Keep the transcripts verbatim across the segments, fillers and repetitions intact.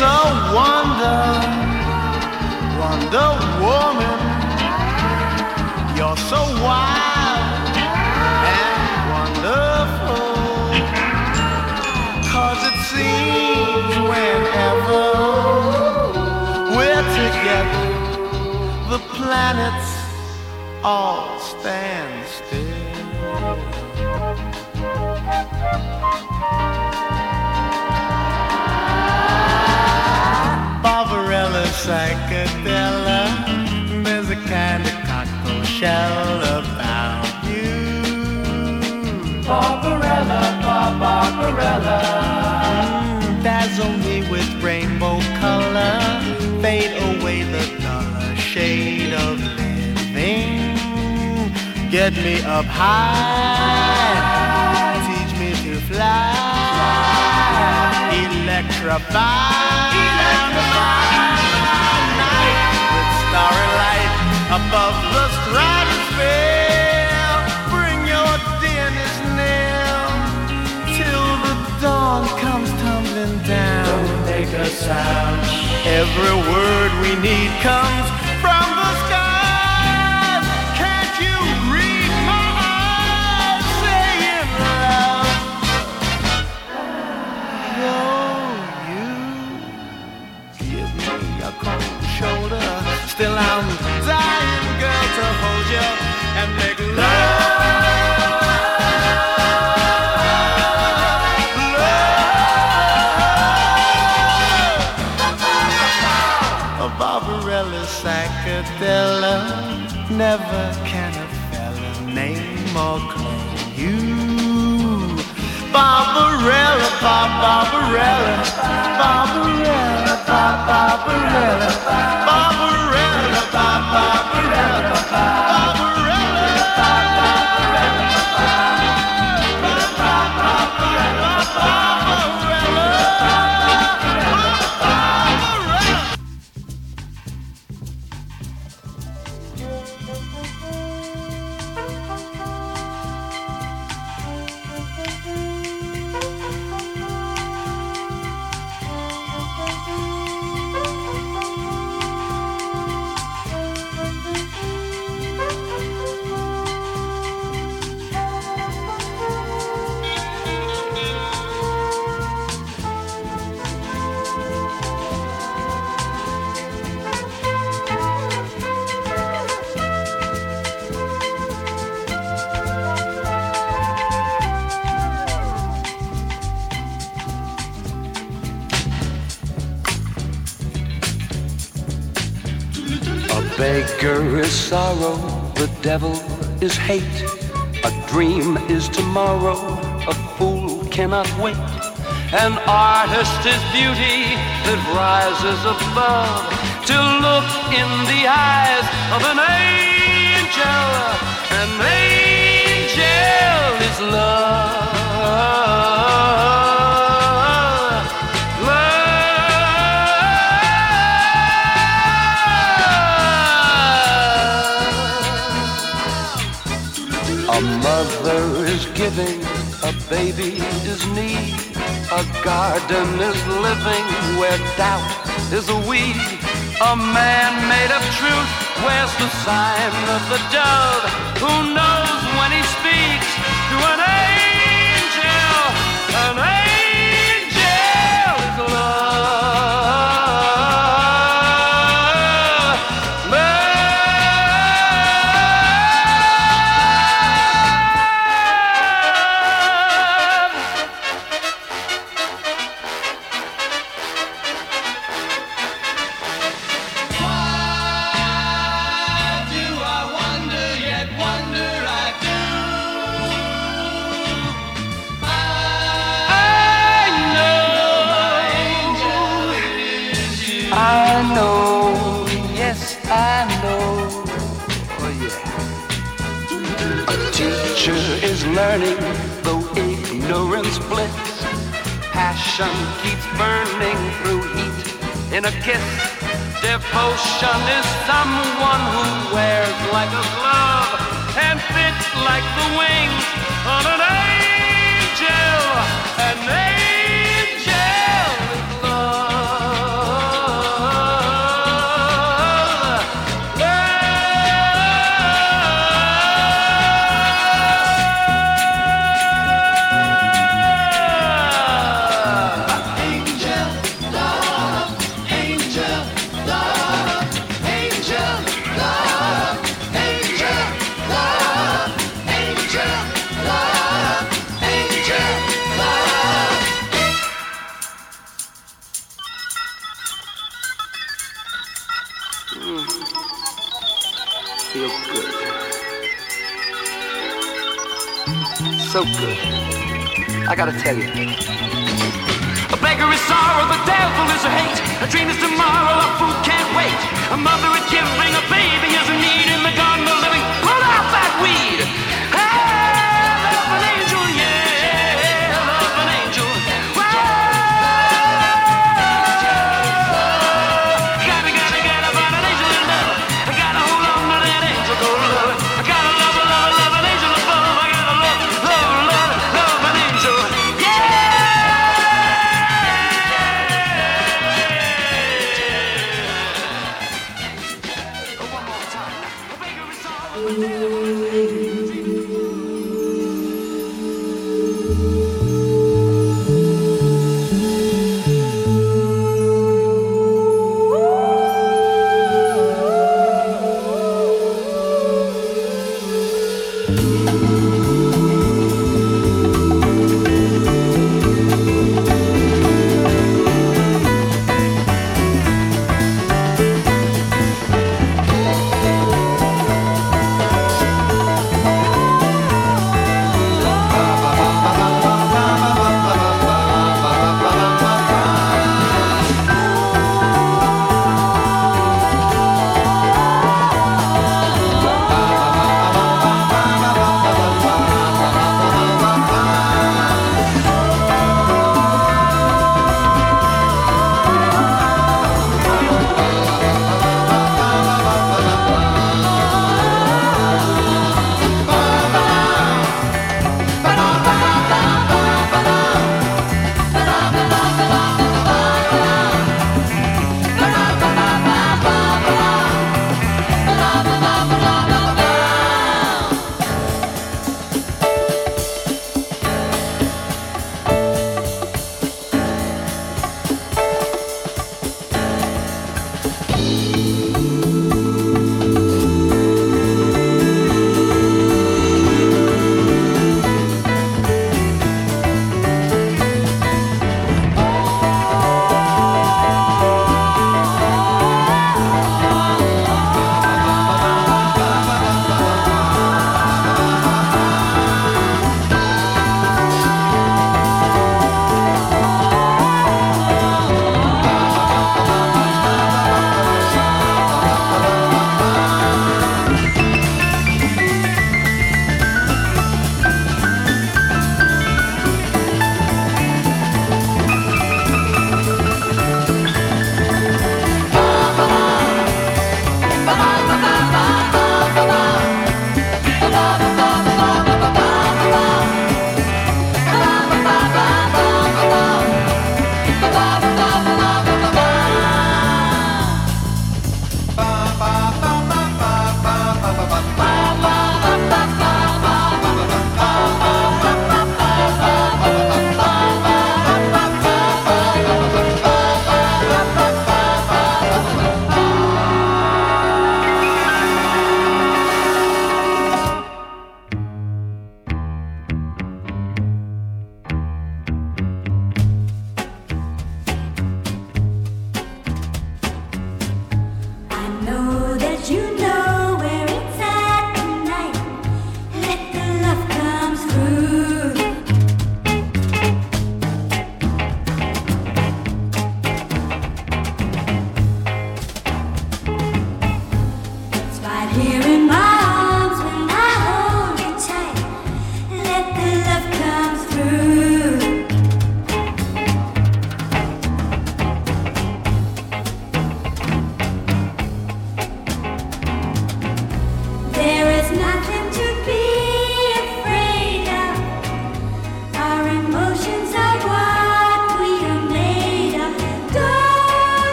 a wonder, Wonder Woman. You're so wild and wonderful, 'cause it seems whenever we're together, the planets all stand still. Barbarella, psychedelic, there's a kind of cocktail shell about you. Barbarella, Bar- Barbarella, mm, dazzle me with rainbow color, fade away the duller shade of living. Get me up high, teach me to fly, electrify. Starry light above the stratosphere. Bring your dearness near till the dawn comes tumbling down. Don't make a sound. Every word we need comes from the skies. Can't you read my eyes saying love? Oh, you give me a cold shoulder. Still I'm dying, girl, to hold you and make love. Love. A Barbarella psychedelic, never can a fella name or claim you. Barbarella, Bar- Barbarella, Barbarella, Bar- Barbarella, Barbarella, Bar- Barbarella, Barbarella, Beggar is sorrow, the devil is hate. A dream is tomorrow, a fool cannot wait. An artist is beauty that rises above to look in the eyes of an angel. An angel is love. A mother is giving, a baby is need. A garden is living where doubt is a weed. A man made of truth wears the sign of the dove. Who knows when he speaks to an angel? An angel is love. I know, yes, I know, oh yeah. A teacher is learning, though ignorance blits. Passion keeps burning through heat in a kiss. Devotion is someone who wears like a glove and fits like the wings on an angel. An angel is love. good. So good. I gotta tell you. A beggar is sorrow, the devil is a hate. A dream is tomorrow, a fool can't wait. A mother is giving, a baby is a need. In the garden of living, pull out that weed. Hey, love an angel, yeah, love an angel. Whoa. Gotta, gotta, gotta find an angel in love. I gotta hold on to that angel, go love. I gotta love, love, love an angel above. I gotta love, love, love, love an angel, yeah.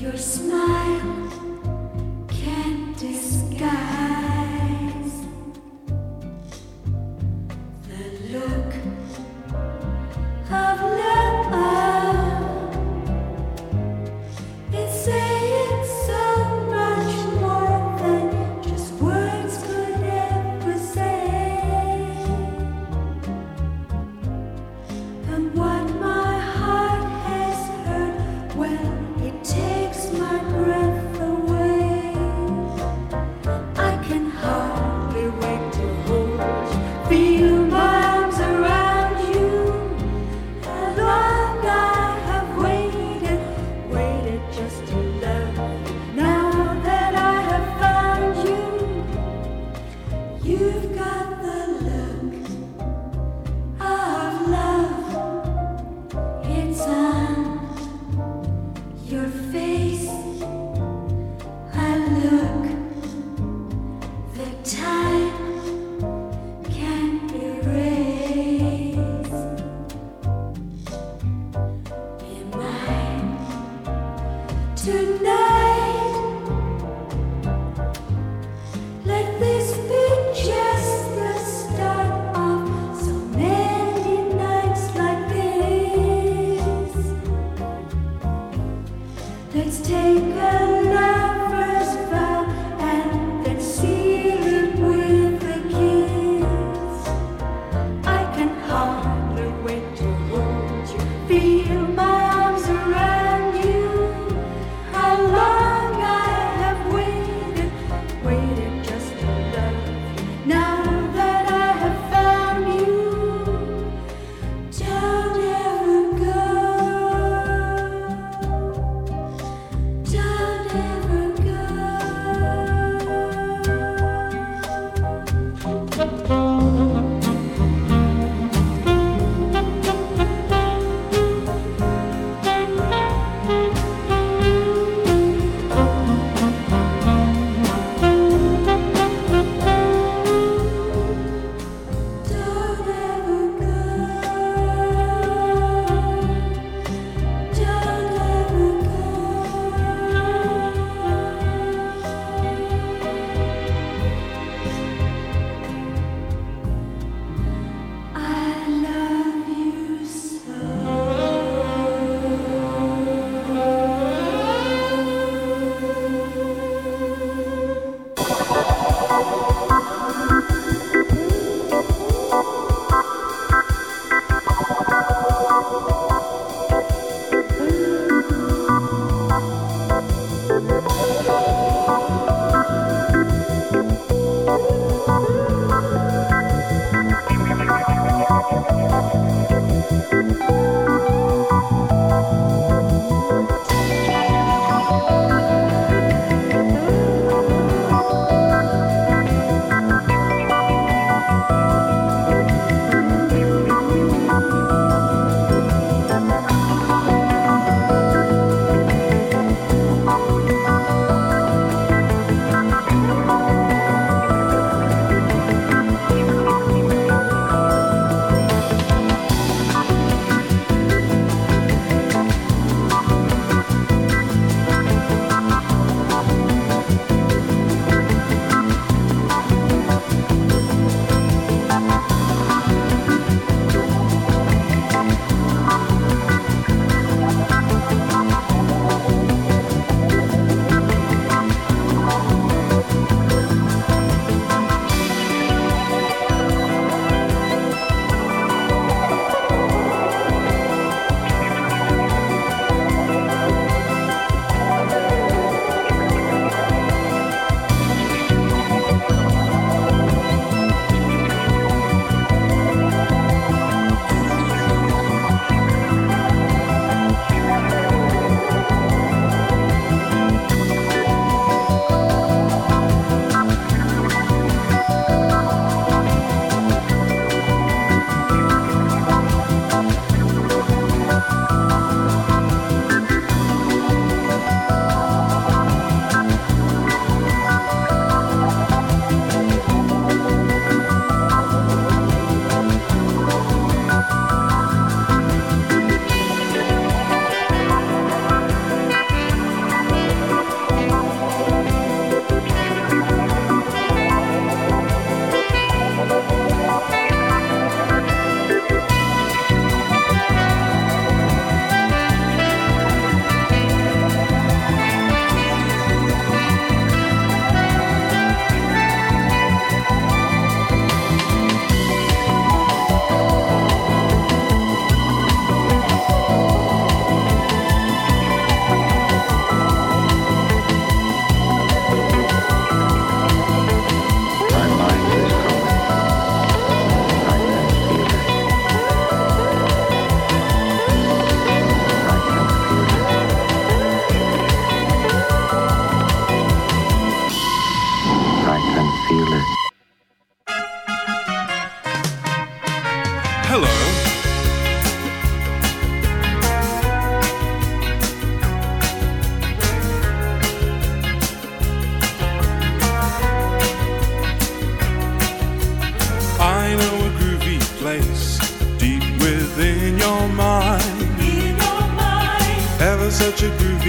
Your smile can't disguise the look of love. It's saying so much more than just words could ever say. And what my heart has heard, well, it takes my breath away. I can hardly wait to hold you, feel my arms around you. How long I have waited, waited just to love you. Now that I have found you, you've got the look of love. It's on your face. I look, the time can't erase. Be mine tonight. Let this be just the start of so many nights like this. Let's take a lover's vow and then seal it with a kiss. I can hardly wait to hold you, feel my arms around you. How long I have waited, waited just to love you. Now that I have found you, don't ever go. Don't ever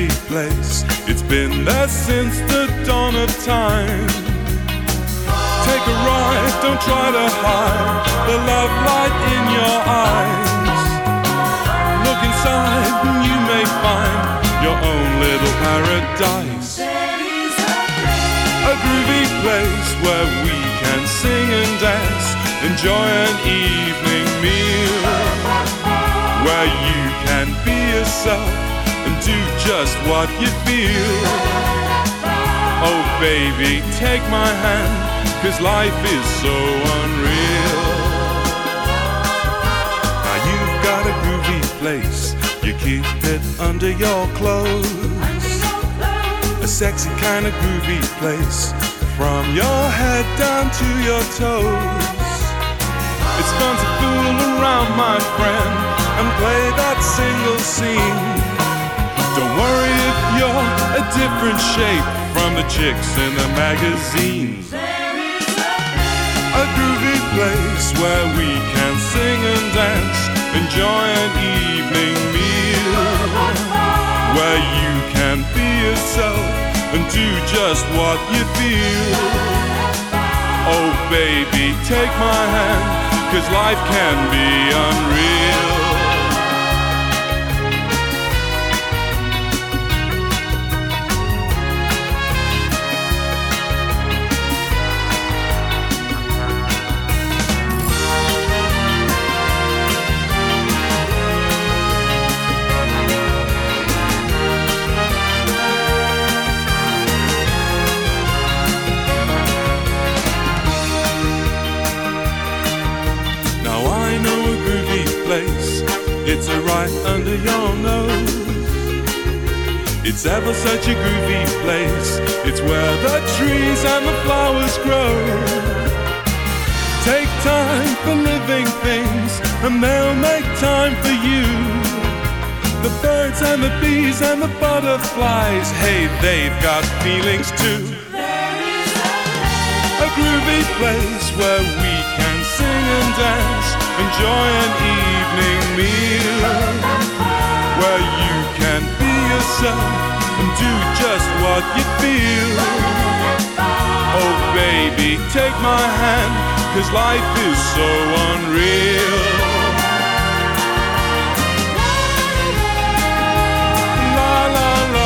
groovy place. It's been there since the dawn of time. Take a ride, don't try to hide the love light in your eyes. Look inside and you may find your own little paradise. A groovy place where we can sing and dance, enjoy an evening meal, where you can be yourself and do just what you feel. Oh baby, take my hand, 'cause life is so unreal. Now you've got a groovy place, you keep it under your clothes. A sexy kind of groovy place, from your head down to your toes. It's fun to fool around, my friend, and play that single scene. Don't worry if you're a different shape from the chicks in the magazines. A groovy place where we can sing and dance, enjoy an evening meal, where you can be yourself and do just what you feel. Oh baby, take my hand, 'cause life can be unreal. It's a right under your nose. It's ever such a groovy place. It's where the trees and the flowers grow. Take time for living things, and they'll make time for you. The birds and the bees and the butterflies, hey, they've got feelings too. A groovy place where we can sing and dance, enjoy an evening meal, where you can be yourself and do just what you feel. Oh baby, take my hand, 'cause life is so unreal. La la la.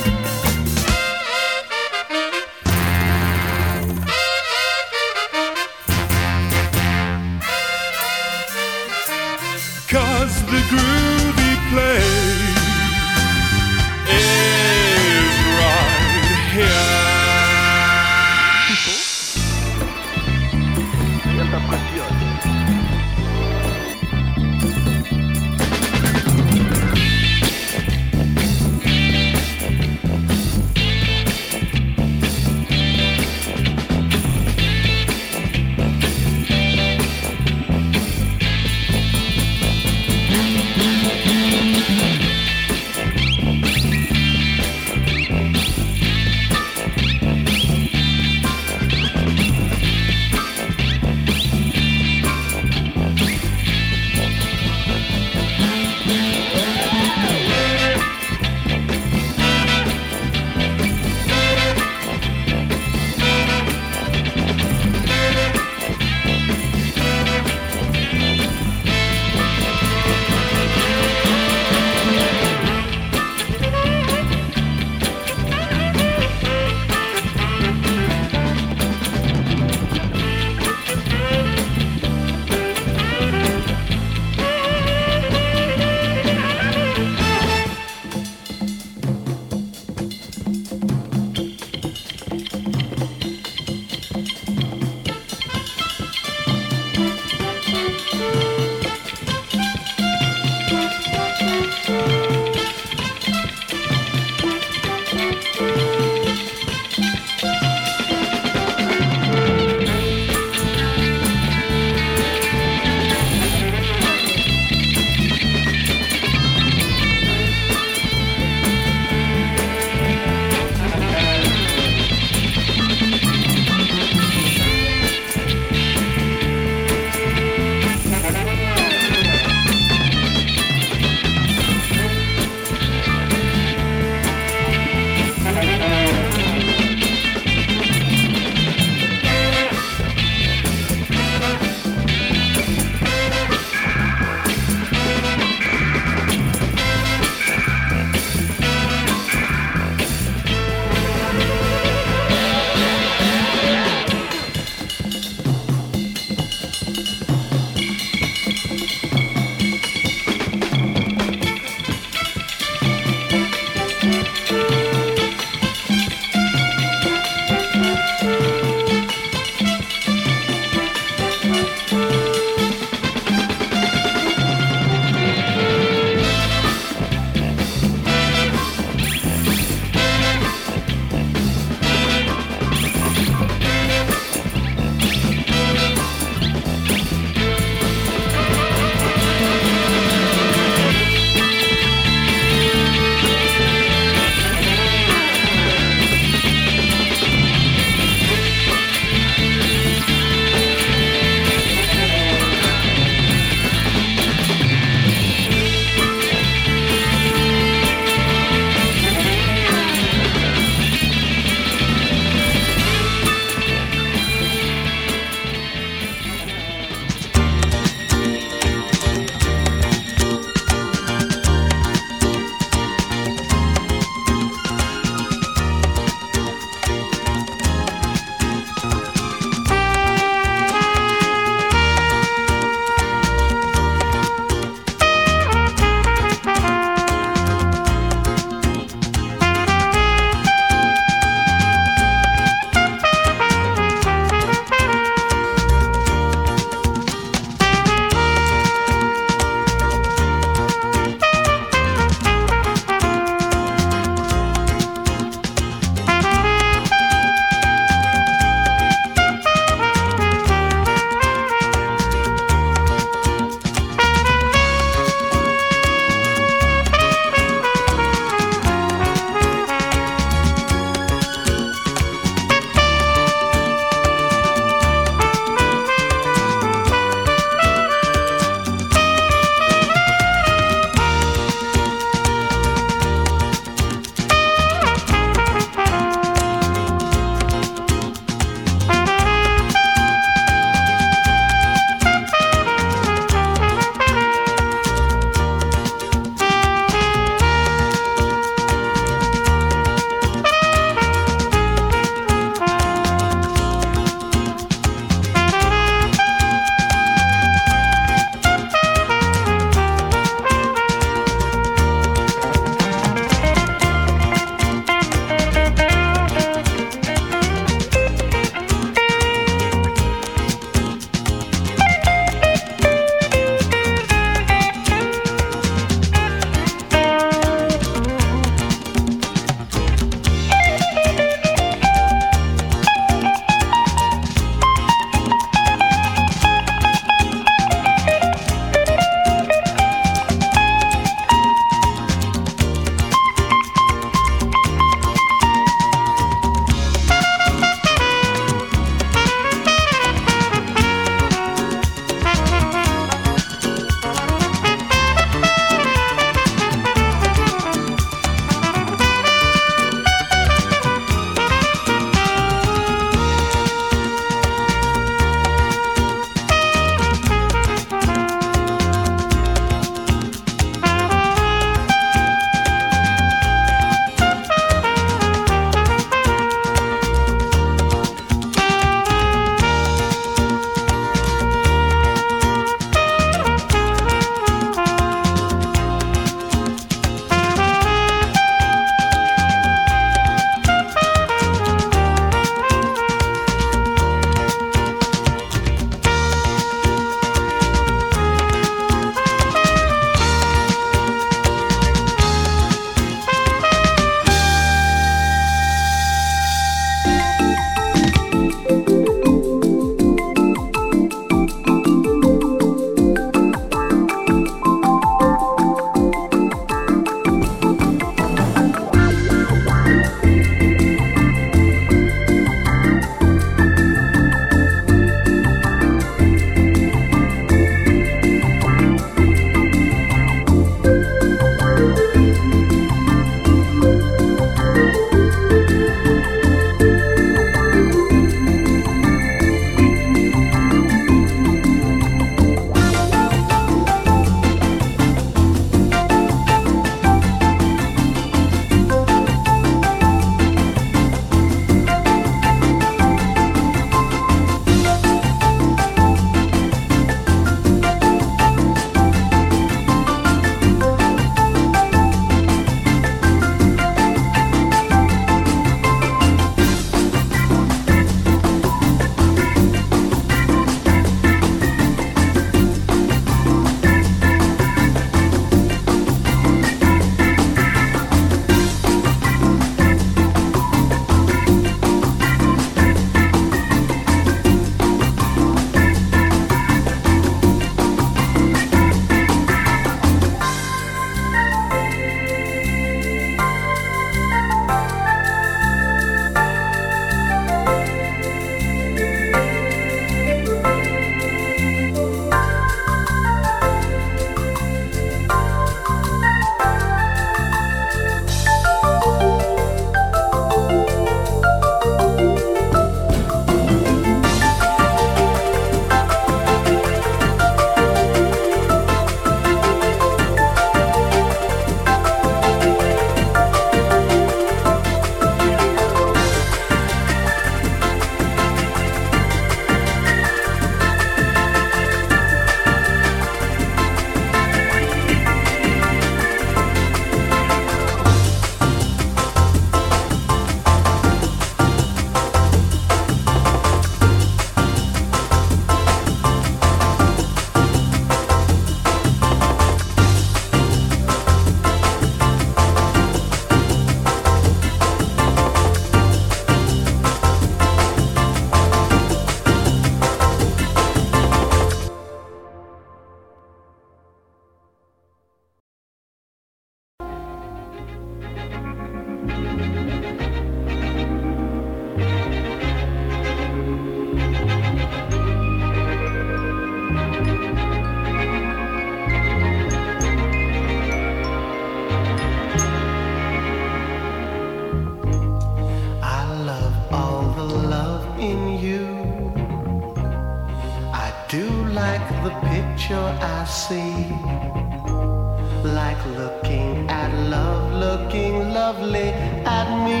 the picture I see, like looking at love, looking lovely at me.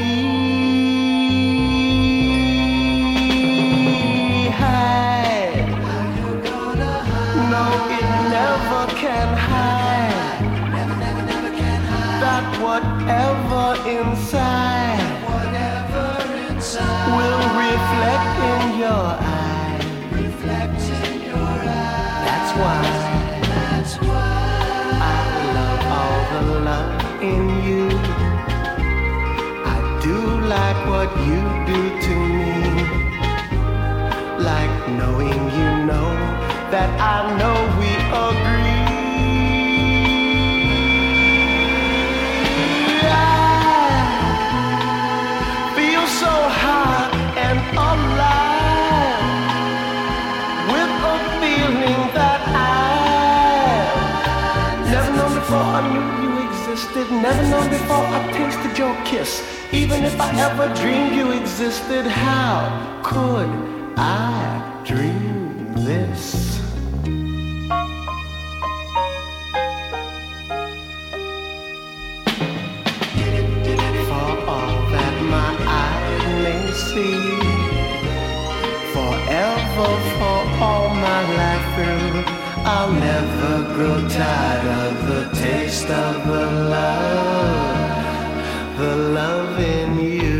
Hide, no, it never can hide. Never, never, never can hide. That whatever inside, whatever inside will reflect in your eyes. Reflect in your eyes. That's why. That's why I love all the love in you. I do like what you do to me. Like knowing you know that I know we agree. I feel so high and alive with a feeling that I've never known before. I knew you existed, never known before I tasted your kiss. Even if I ever dreamed you existed, how could I dream this? For all that my eyes may see, forever, for all my life through, I'll never grow tired of the taste of the love, the love in you.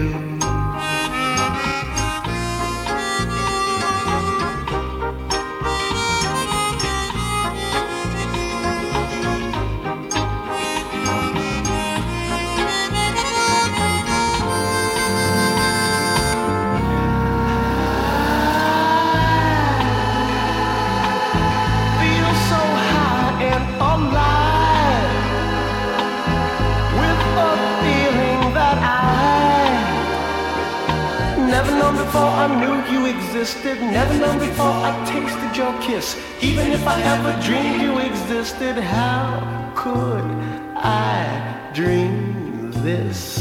Never known before I knew you existed. Never known before I tasted your kiss. Even if I ever dreamed you existed, how could I dream this?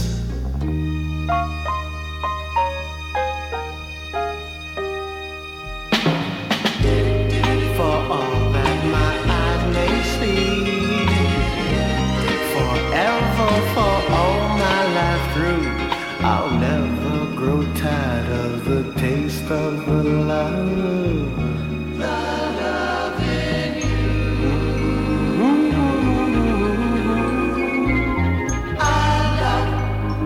For all that my eyes may see, forever, for all my life through, I'll never grow tired of the taste of the love, the love in you. Mm-hmm. I love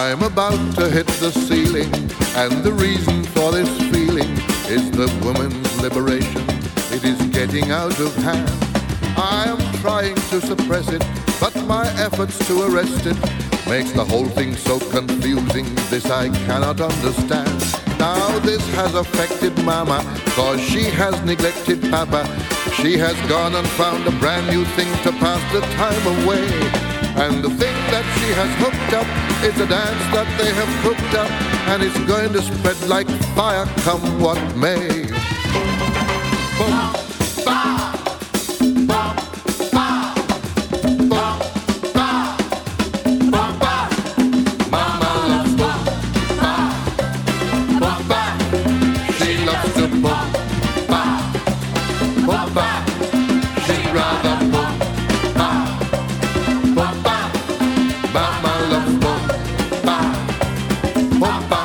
I'm about to hit the ceiling, and the reason for this feeling is the woman's liberation. It is getting out of hand. I am trying to suppress it, but my efforts to arrest it makes the whole thing so confusing. This I cannot understand. Now this has affected Mama, cause she has neglected Papa. She has gone and found a brand new thing to pass the time away. And the thing that she has hooked up is a dance that they have cooked up, and it's going to spread like fire come what may. Boom, ba, bum, ba, bum, ba, bum, ba. Mama loves boom, ba, bum, ba. She loves to boom, ba, bum, ba. She'd rather boom, ba, bum, ba. Mama loves boom, ba, bum, ba.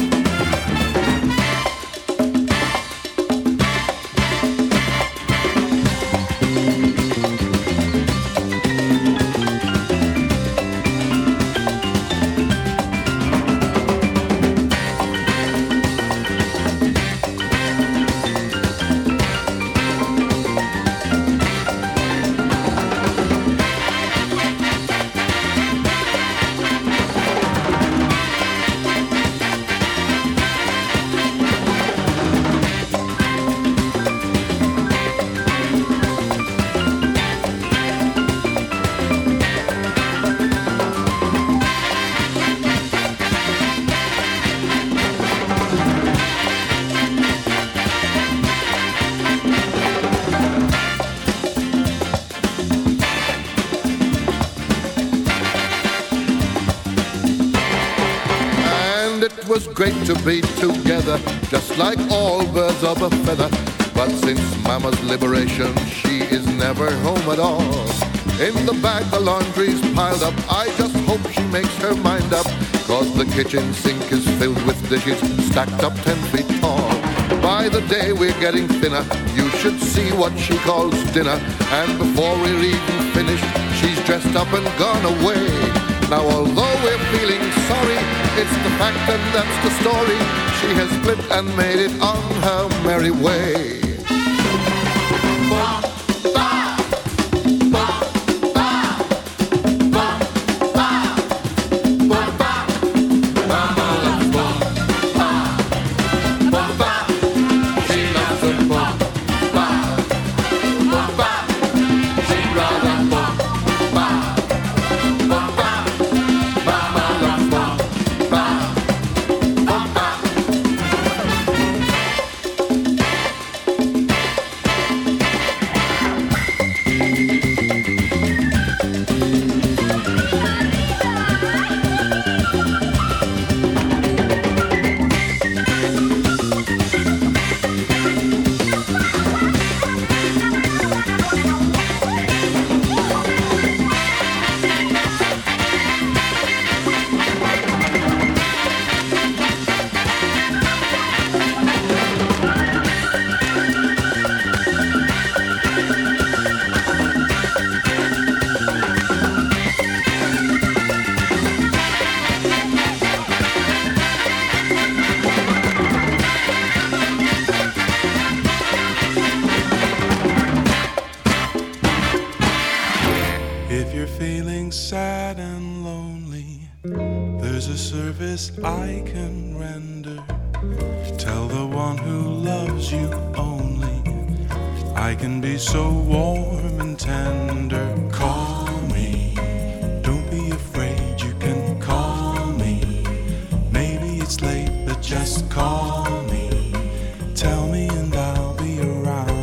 It was great to be together, just like all birds of a feather. But since Mama's liberation, she is never home at all. In the back the laundry's piled up, I just hope she makes her mind up, cause the kitchen sink is filled with dishes stacked up ten feet tall. By the day we're getting thinner, you should see what she calls dinner. And before we're even finished, she's dressed up and gone away. Now although we're feeling sorry, it's the fact and that's the story. She has split and made it on her merry way. Bum, ba, bum, ba, bum, ba, bum, ba. Mama loves bum, ba, bum, ba. She loves a bum, ba, bum, ba. She'd rather bum, ba, bum, ba. Mama loves bum, ba, bum, ba. If you're feeling sad and lonely, there's a service I can render. Tell the one who loves you only, I can be so warm and tender. Call me, don't be afraid, you can call me. Maybe it's late, but just call me. Tell me and I'll be around.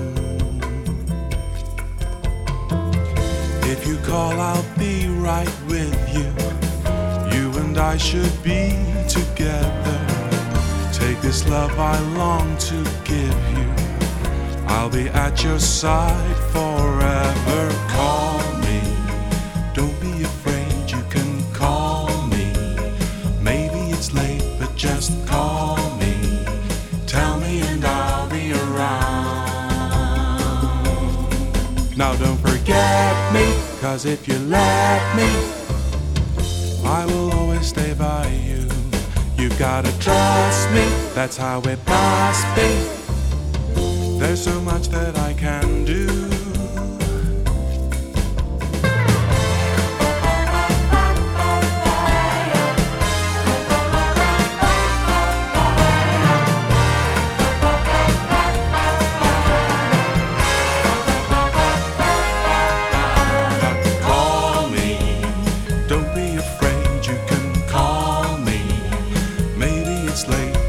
If you call, I'll be right with you. You and I should be together. Take this love I long to give you. I'll be at your side forever. Call me, don't be afraid, you can call me. Maybe it's late, but just call me. Tell me and I'll be around. Now don't forget me, cause if you let me, I will always gonna stay by you. You gotta trust me, that's how it must be. There's so much that I can do.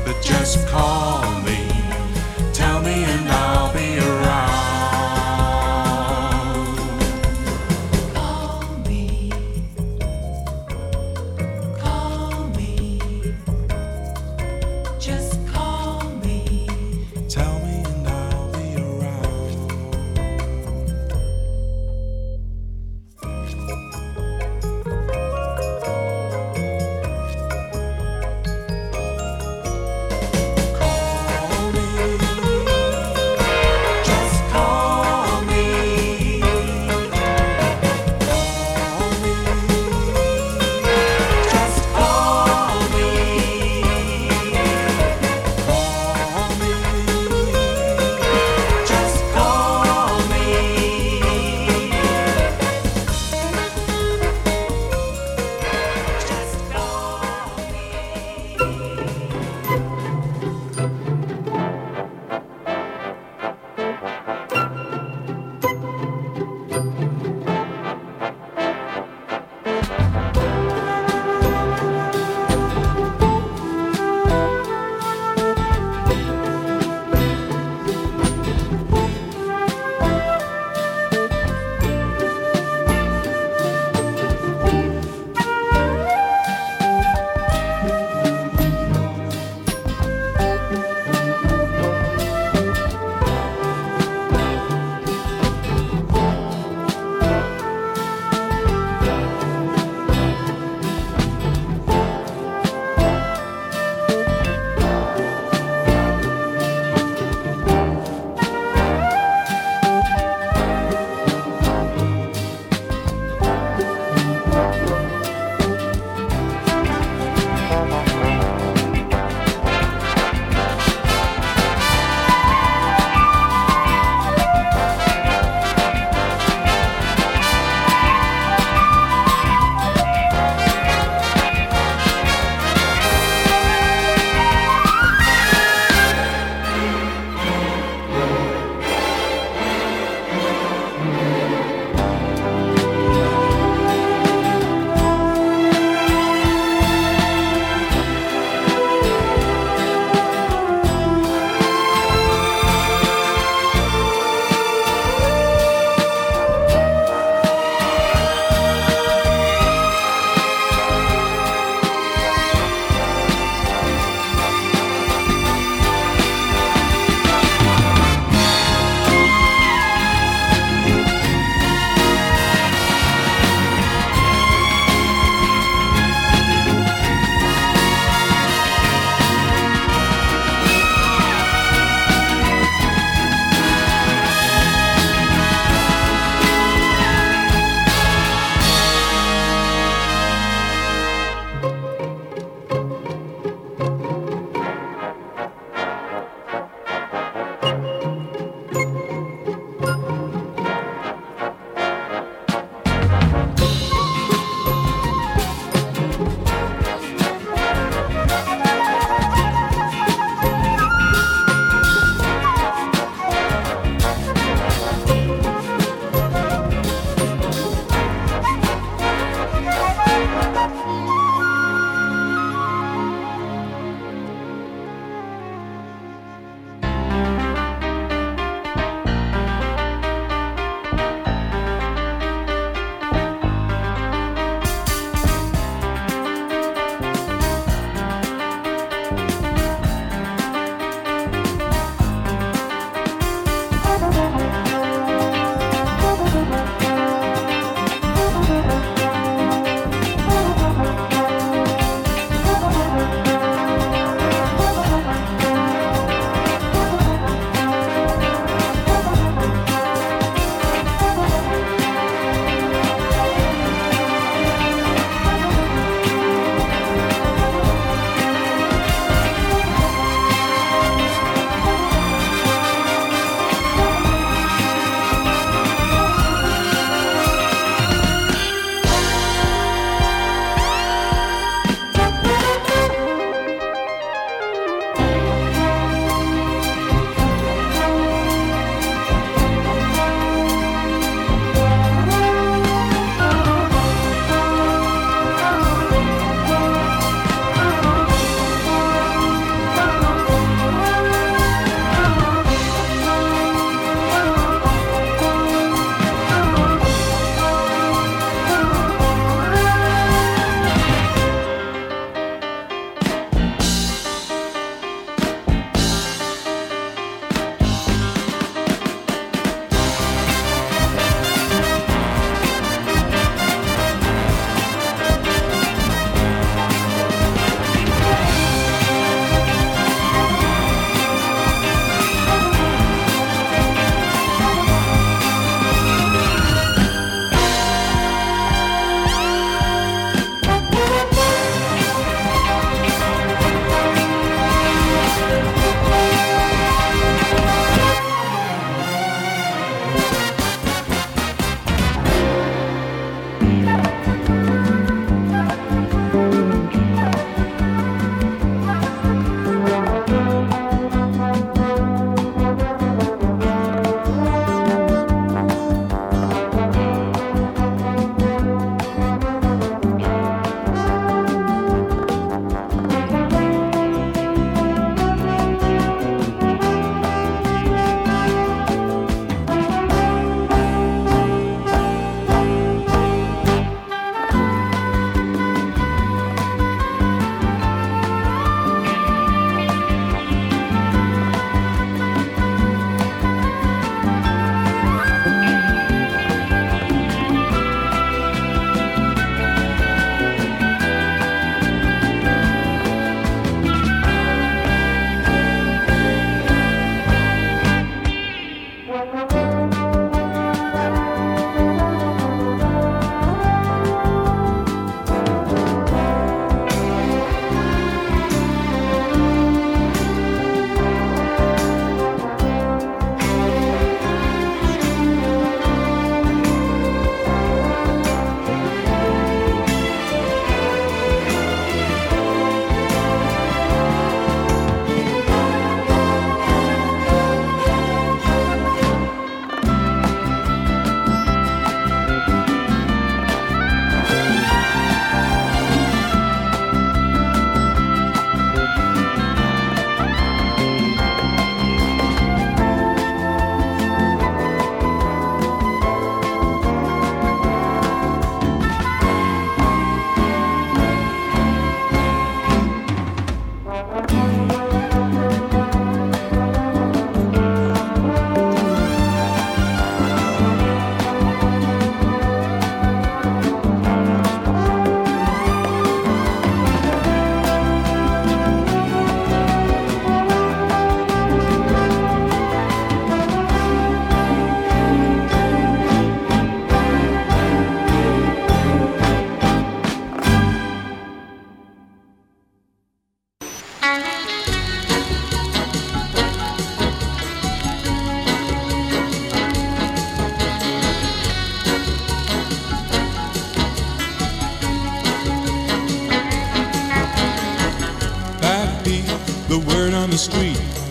Just call me, tell me and I'll be around.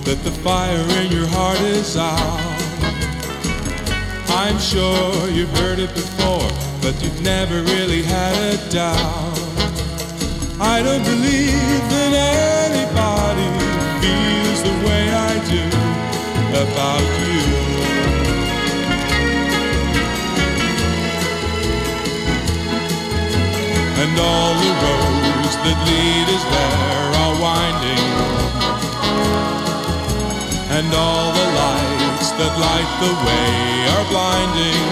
that the fire in your heart is out. I'm sure you've heard it before, but you've never really had a doubt. I don't believe that anybody feels the way I do about you. And all the roads that lead us there are winding, and all the lights that light the way are blinding.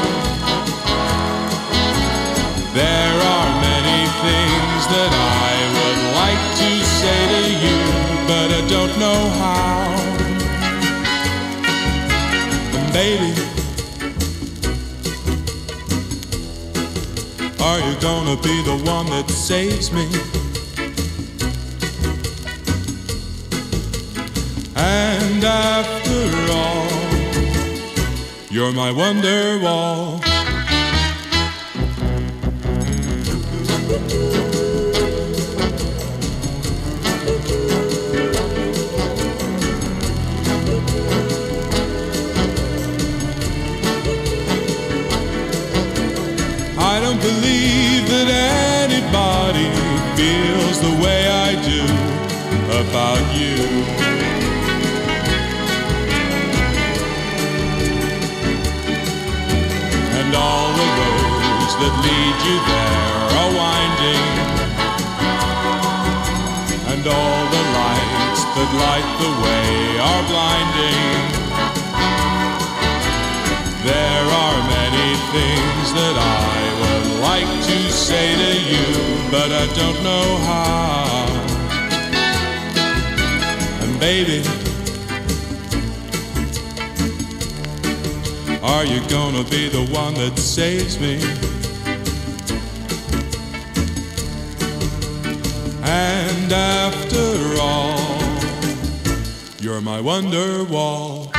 There are many things that I would like to say to you, but I don't know how. And baby, are you gonna be the one that saves me? And after all, you're my wonder wall. I don't believe that anybody feels the way I do about you. And all the roads that lead you there are winding, and all the lights that light the way are blinding. There are many things that I would like to say to you, but I don't know how. And baby, are you gonna be the one that saves me? And after all, you're my wonder wall.